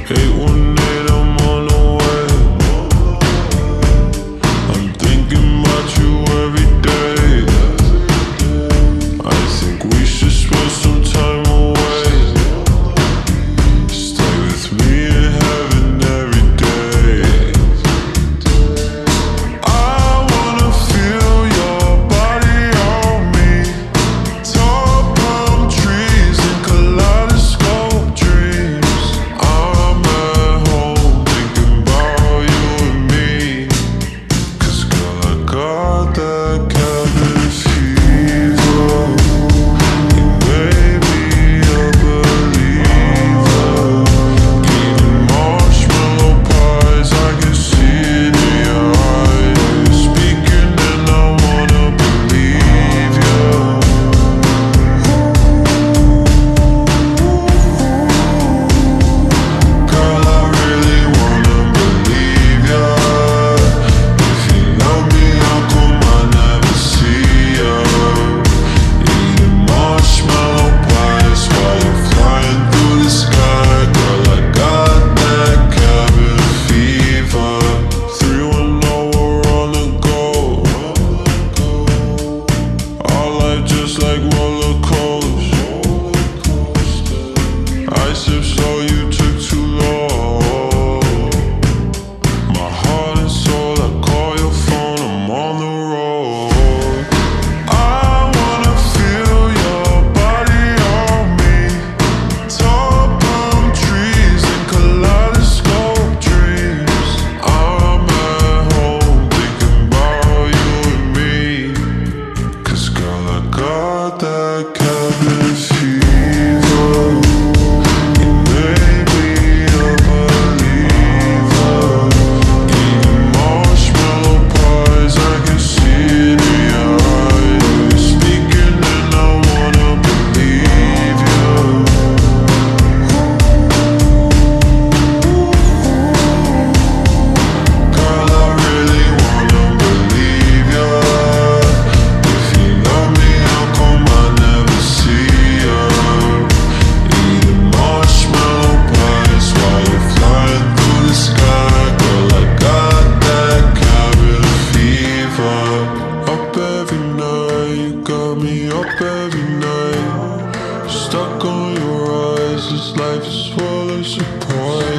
818, I'm on the way. I'm thinking about you every day. I think we should spend some time away. Stay with me in heaven every day. I wanna feel your body on me. Tall palm trees and kaleidoscope dreams. I'm at home thinking about you and me. 'Cause girl, I got that cabin fever. You made me a believer. Eating marshmallow pies, I can see it in your eyes. Speaking and I wanna believe you. Girl, I really wanna believe ya. If you love me, how come I never see ya? Eating marshmallow pies while you're flying through the sky. Girl, I got that cabin fever. 310, we're on the go. Our life just like roller coasters. I sip slow, you took too long. My heart and soul, I call your phone, I'm on the road. I wanna feel your body on me. Tall palm trees and kaleidoscope dreams. I'm at home thinking about you and me. 'Cause girl, I got that cabin fever. You made me a believer. Eating marshmallow pies, I can see it in your eyes. Speaking and I wanna believe you. Girl, I really wanna believe ya. If you love me, how come I never see ya? Eating marshmallow pies while you're flying through the sky. Girl, I got that cabin fever. Up every night, you got me up every night. Stuck on your eyes, this life is full of surprise.